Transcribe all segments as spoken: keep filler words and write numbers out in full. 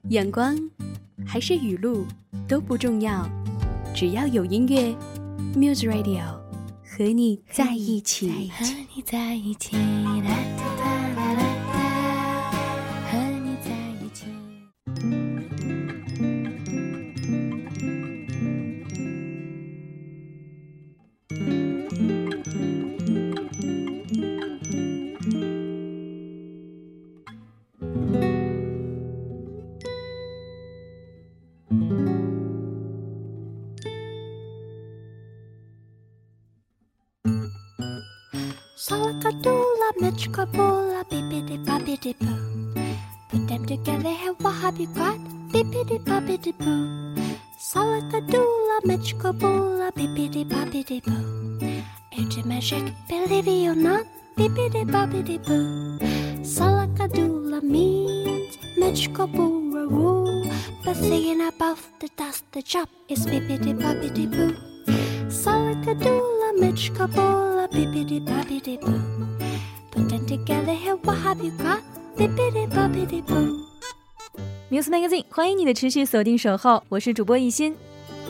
阳光还是雨露都不重要，只要有音乐 Muse Radio 和你在一起， 和你在一起，啦啦啦啦啦，和你在一起。Salakadoola, mitchkaboola, bippity-boppity-boo. Put them together, hey, what have you got? Bippity-boppity-boo. Salakadoola, mitchkaboola, bippity-boppity-boo. It's a magic, believe it or not, bippity-boppity-boo. Salakadoola means mitchkaboola rule. But thinking about the dust, the job is bippity-boppity-boo. Salakadoola, mitchkaboola, bippity-boppity-boo. Put them together, hey, what have you got? Bippity-boppity-boo. Muse Magazine 欢迎你的持续锁定守候，我是主播一心。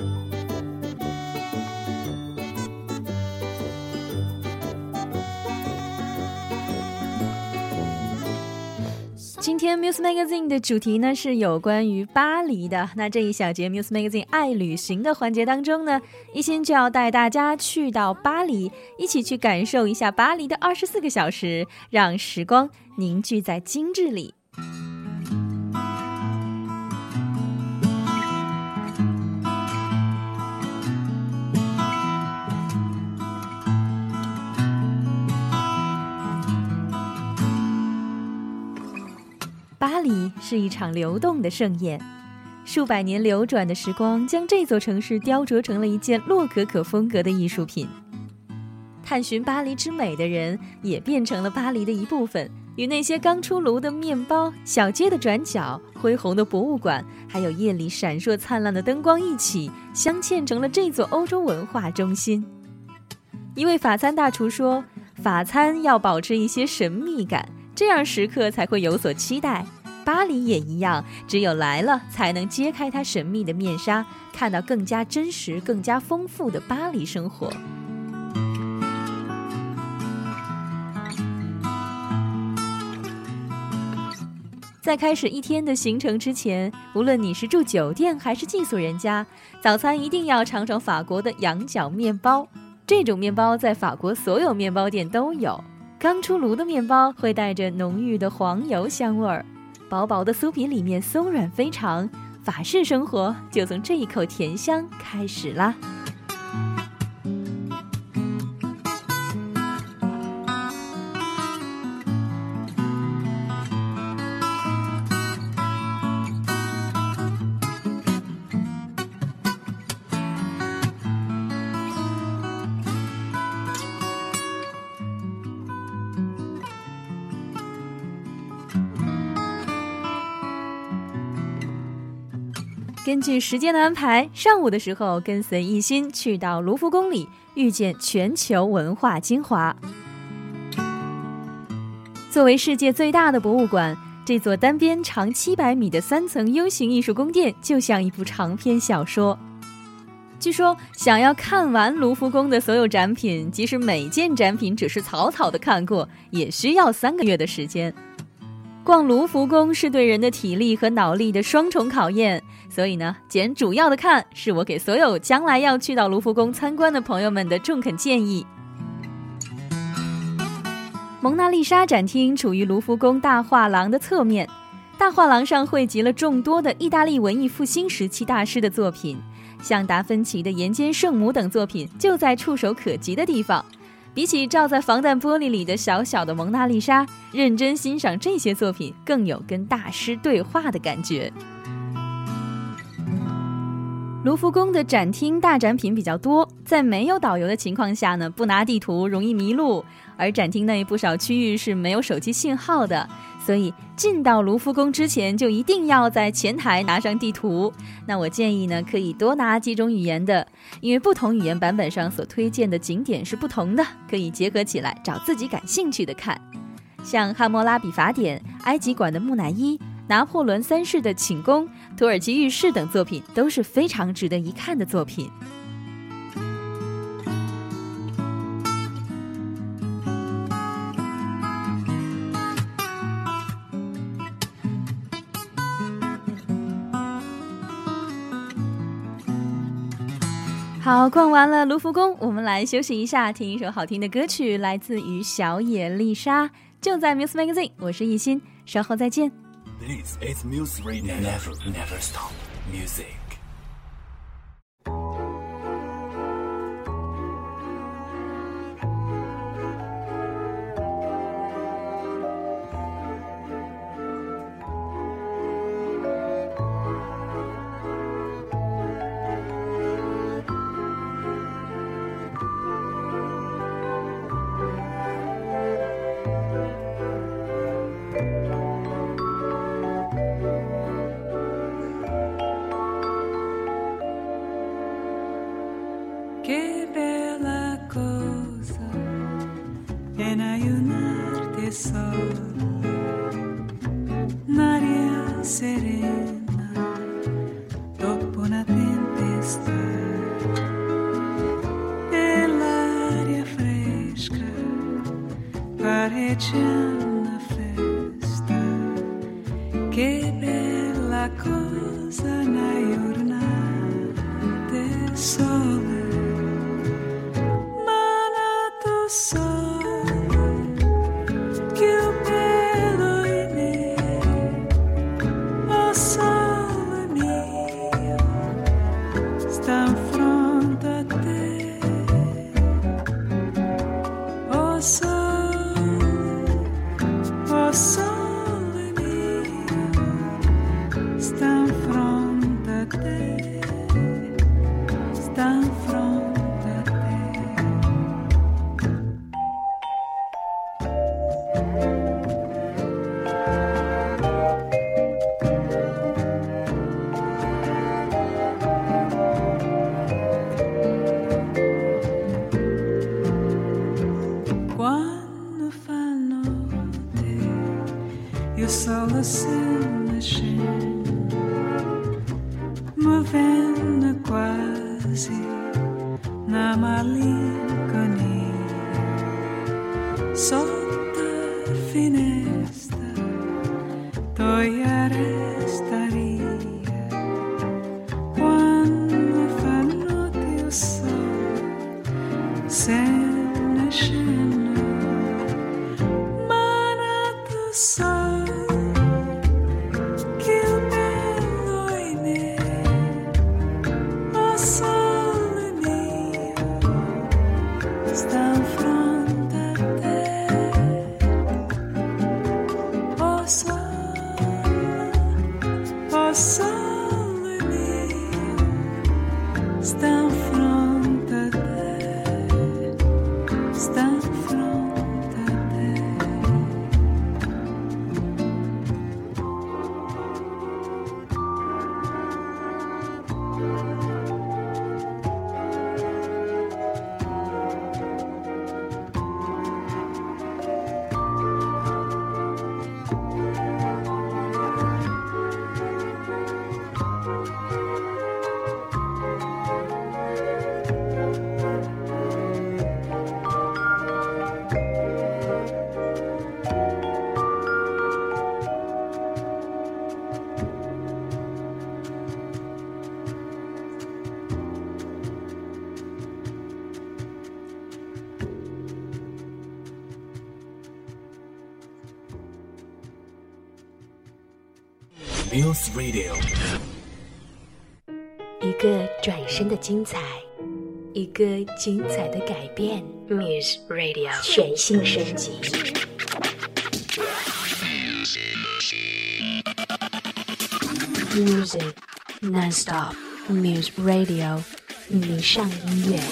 今天 Muse Magazine 的主题呢是有关于巴黎的。那这一小节 Muse Magazine 爱旅行的环节当中呢，一心就要带大家去到巴黎，一起去感受一下巴黎的二十四个小时，让时光凝聚在精致里。巴黎是一场流动的盛宴，数百年流转的时光将这座城市雕琢成了一件洛可可风格的艺术品。探寻巴黎之美的人也变成了巴黎的一部分，与那些刚出炉的面包、小街的转角、恢宏的博物馆，还有夜里闪烁灿烂的灯光一起镶嵌成了这座欧洲文化中心。一位法餐大厨说，法餐要保持一些神秘感，这样食客才会有所期待。巴黎也一样，只有来了才能揭开它神秘的面纱，看到更加真实更加丰富的巴黎生活。在开始一天的行程之前，无论你是住酒店还是寄宿人家，早餐一定要尝尝法国的羊角面包。这种面包在法国所有面包店都有，刚出炉的面包会带着浓郁的黄油香味儿，薄薄的酥皮里面松软非常，法式生活就从这一口甜香开始啦。根据时间的安排，上午的时候跟随一心去到卢浮宫里，遇见全球文化精华。作为世界最大的博物馆，这座单边长七百米的三层 U 型艺术宫殿就像一部长篇小说。据说想要看完卢浮宫的所有展品，即使每件展品只是草草的看过，也需要三个月的时间。逛卢浮宫是对人的体力和脑力的双重考验，所以呢，捡主要的看是我给所有将来要去到卢浮宫参观的朋友们的中肯建议。蒙娜丽莎展厅处于卢浮宫大画廊的侧面，大画廊上汇集了众多的意大利文艺复兴时期大师的作品，像达芬奇的《岩间圣母》等作品就在触手可及的地方。比起照在防弹玻璃里的小小的蒙娜丽莎，认真欣赏这些作品更有跟大师对话的感觉。卢浮宫的展厅大展品比较多，在没有导游的情况下呢，不拿地图容易迷路，而展厅内不少区域是没有手机信号的，所以进到卢浮宫之前就一定要在前台拿上地图。那我建议呢，可以多拿几种语言的，因为不同语言版本上所推荐的景点是不同的，可以结合起来找自己感兴趣的看。像汉谟拉比法典、埃及馆的木乃伊、 拿破仑三世的寝宫、土耳其浴室等作品都是非常值得一看的作品。好，逛完了卢浮宫，我们来休息一下，听一首好听的歌曲，来自于小野丽莎，就在 Muse Magazine。 我是艺昕，稍后再见。 This is Muse Radio. Never, never stop music. Che bella cosa è n'aiunarte sola, un'aria serena dopo una tempesta, e l'aria fresca pareggia una festa. Che bella cosa n'aiunarte sola. Solo se ne scende, movendo quasi una malinconia sotto finestra, toia restaria quando fa notte il sole se ne scende, ma nato sole. Muse Radio， 一个转身的精彩，一个精彩的改变。Muse Radio 全新升级。Music non-stop Muse Radio， 迷上音乐。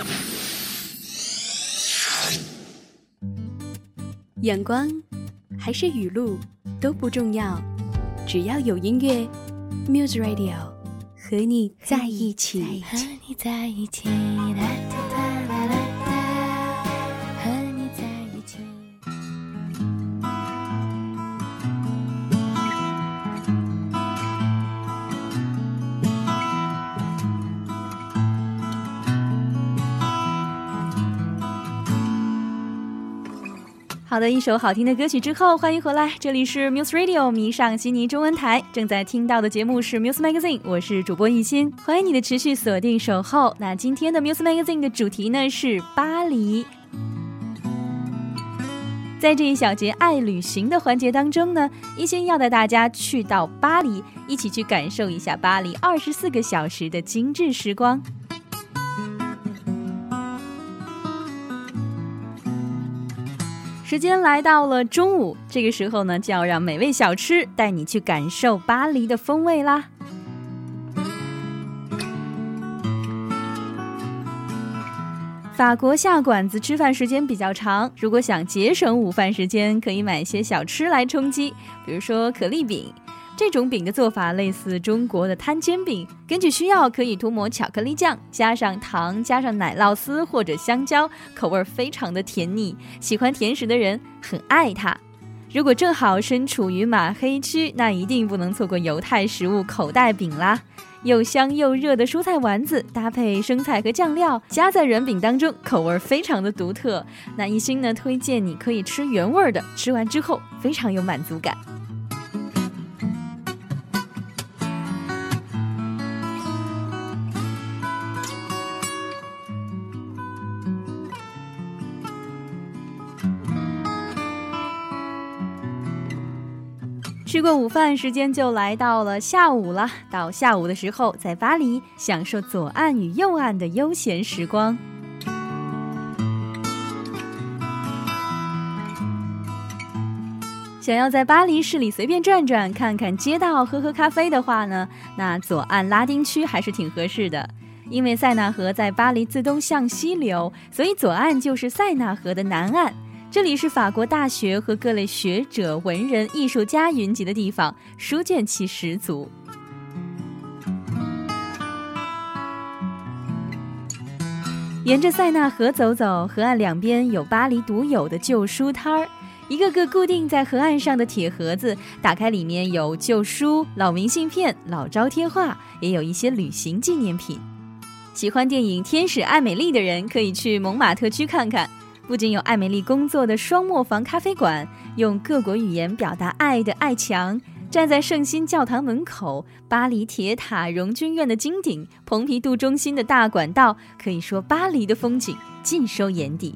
阳光还是雨露都不重要。只要有音乐 Muse Radio 和你在一起， 和你在一起，哒哒哒哒哒，和你在一起。 好的，一首好听的歌曲之后，欢迎回来，这里是 Muse Radio 迷上悉尼中文台，正在听到的节目是 Muse Magazine， 我是主播艺昕，欢迎你的持续锁定守候。那今天的 Muse Magazine 的主题呢是巴黎。在这一小节爱旅行的环节当中呢，艺昕要带大家去到巴黎，一起去感受一下巴黎二十四个小时的精致时光。时间来到了中午，这个时候呢，就要让美味小吃带你去感受巴黎的风味啦。法国下馆子吃饭时间比较长，如果想节省午饭时间，可以买些小吃来充饥，比如说可丽饼。这种饼的做法类似中国的摊煎饼，根据需要可以涂抹巧克力酱，加上糖，加上奶酪丝或者香蕉，口味非常的甜腻，喜欢甜食的人很爱它。如果正好身处于马黑区，那一定不能错过犹太食物口袋饼啦。又香又热的蔬菜丸子搭配生菜和酱料，夹在软饼当中，口味非常的独特。那艺昕呢推荐你可以吃原味的，吃完之后非常有满足感。吃过午饭，时间就来到了下午了。到下午的时候，在巴黎享受左岸与右岸的悠闲时光。想要在巴黎市里随便转转，看看街道，喝喝咖啡的话呢，那左岸拉丁区还是挺合适的。因为塞纳河在巴黎自东向西流，所以左岸就是塞纳河的南岸。这里是法国大学和各类学者、文人、艺术家云集的地方，书卷气十足。沿着塞纳河走走，河岸两边有巴黎独有的旧书摊儿，一个个固定在河岸上的铁盒子，打开里面有旧书、老明信片、老招贴画，也有一些旅行纪念品。喜欢电影《天使艾美丽》的人可以去蒙马特区看看。不仅有艾美丽工作的双磨坊咖啡馆，用各国语言表达爱的爱墙，站在圣心教堂门口，巴黎铁塔、荣军院的金顶，蓬皮杜中心的大管道，可以说巴黎的风景尽收眼底。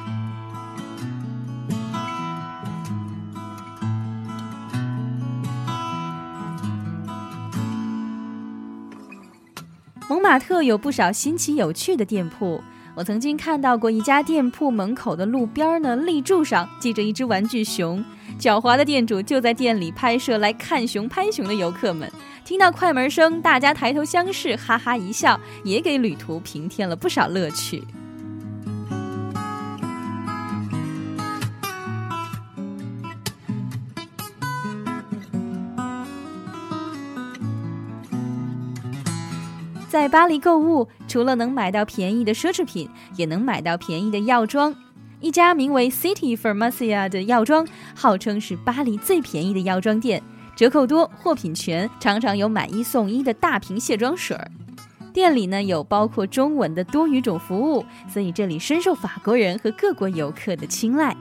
蒙马特有不少新奇有趣的店铺，我曾经看到过一家店铺门口的路边呢，立柱上系着一只玩具熊，狡猾的店主就在店里拍摄来看熊拍熊的游客们。听到快门声，大家抬头相视，哈哈一笑，也给旅途平添了不少乐趣。在巴黎购物，除了能买到便宜的奢侈品，也能买到便宜的药妆。一家名为 City Pharmacia 的药妆，号称是巴黎最便宜的药妆店，折扣多，货品全，常常有买一送一的大瓶卸妆水。店里呢有包括中文的多语种服务，所以这里深受法国人和各国游客的青睐。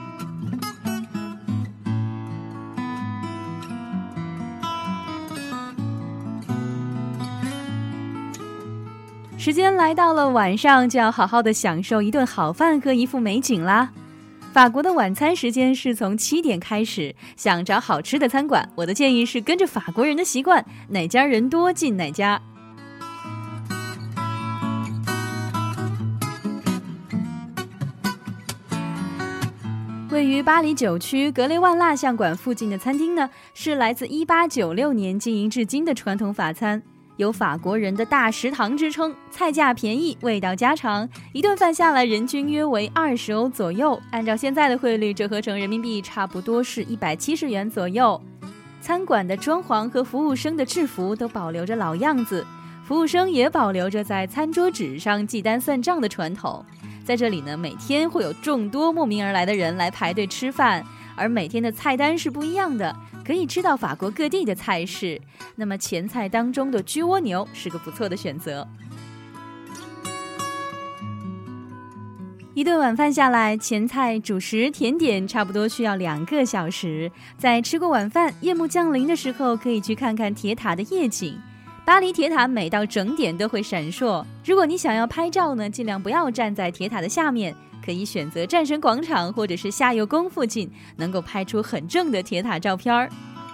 时间来到了晚上，就要好好的享受一顿好饭和一幅美景啦。法国的晚餐时间是从七点开始，想找好吃的餐馆，我的建议是跟着法国人的习惯，哪家人多进哪家。位于巴黎九区格雷万蜡像馆附近的餐厅呢，是来自一八九六年经营至今的传统法餐，有法国人的大食堂之称，菜价便宜，味道家常，一顿饭下来人均约为二十欧左右，按照现在的汇率折合成人民币差不多是一百七十元左右。餐馆的装潢和服务生的制服都保留着老样子，服务生也保留着在餐桌纸上记单算账的传统。在这里呢，每天会有众多慕名而来的人来排队吃饭，而每天的菜单是不一样的，可以吃到法国各地的菜式。那么前菜当中的焗蜗牛是个不错的选择。 一顿晚饭下来，前菜、主食、甜点差不多需要两个小时。在吃过晚饭，夜幕降临的时候，可以去看看铁塔的夜景。巴黎铁塔每到整点都会闪烁。如果你想要拍照呢，尽量不要站在铁塔的下面，可以选择战神广场或者是夏油宫附近，能够拍出很正的铁塔照片儿。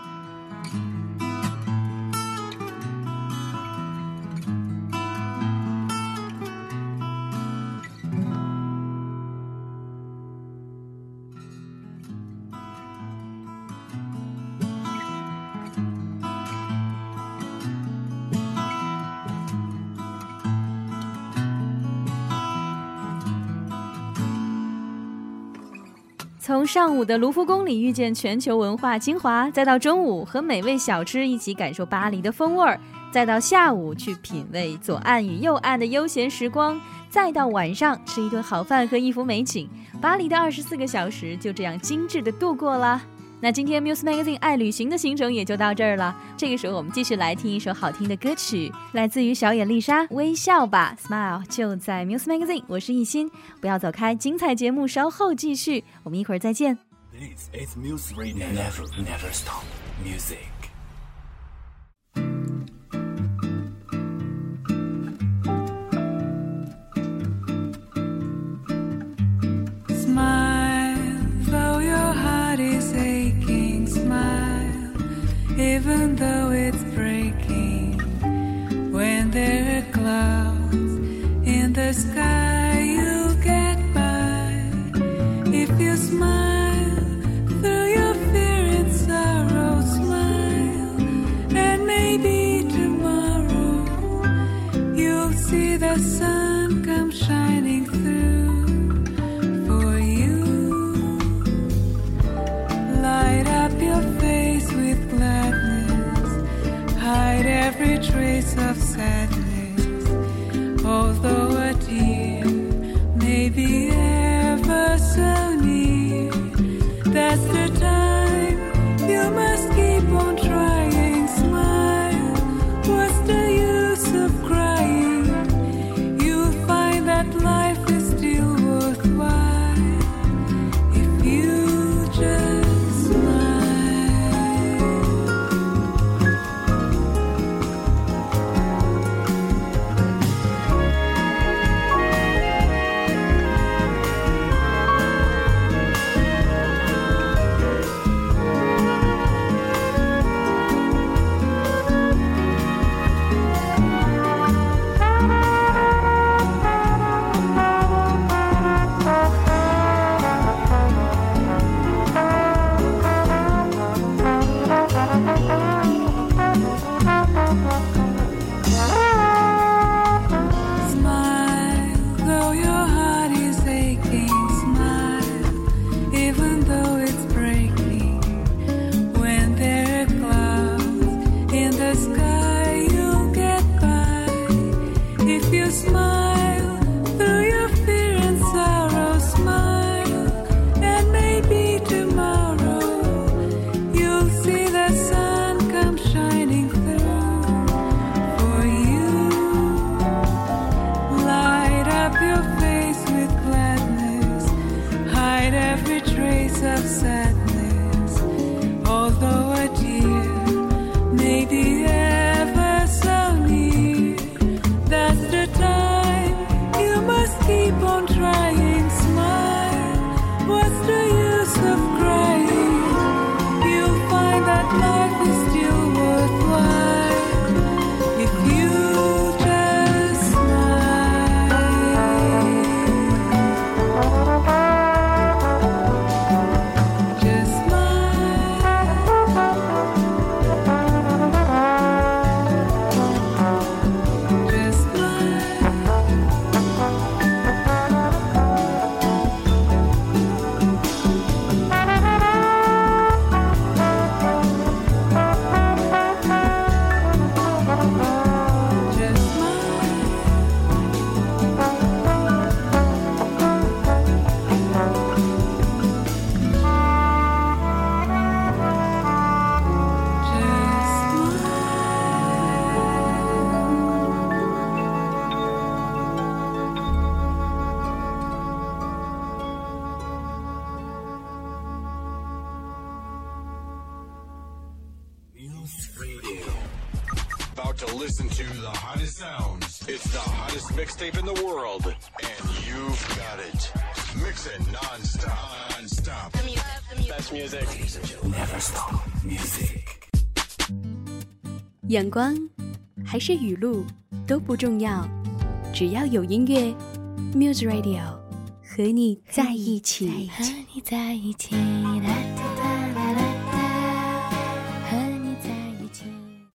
从上午的卢浮宫里遇见全球文化精华，再到中午和美味小吃一起感受巴黎的风味儿，再到下午去品味左岸与右岸的悠闲时光，再到晚上吃一顿好饭和一幅美景，巴黎的二十四个小时就这样精致的度过了。那今天 Muse Magazine 爱旅行的行程也就到这儿了。这个时候我们继续来听一首好听的歌曲，来自于小野丽莎，微笑吧 Smile， 就在 Muse Magazine。 我是艺昕，不要走开，精彩节目稍后继续，我们一会儿再见。 This is Muse Radio. Never, never stop. Music. Even though it's breaking, when there are clouds in the sky, you'll get by. If you smile through your fear and sorrow, smile, and maybe tomorrow you'll see the sun come shining through for you. Light up your face with hide every trace of sadness, although a tear may be ever so near. That's the time you must keep on trying. Smile, what's the use of crying? You'll find that life is still worthwhile if you just of sadness, although a tear may be ever so near. That's the time you must keep on trying. Smile, what's the use of crying? You'll find that life is still worthwhile if you just smile. Just smile. Just smile. listen to the hottest sounds. It's the hottest mixtape in the world, and you've got it. Mix it non-stop. Non-stop. Best music. Never stop music. 阳光还是雨露都不重要，只要有音乐 Muse Radio 和你在一起。 和你在一起。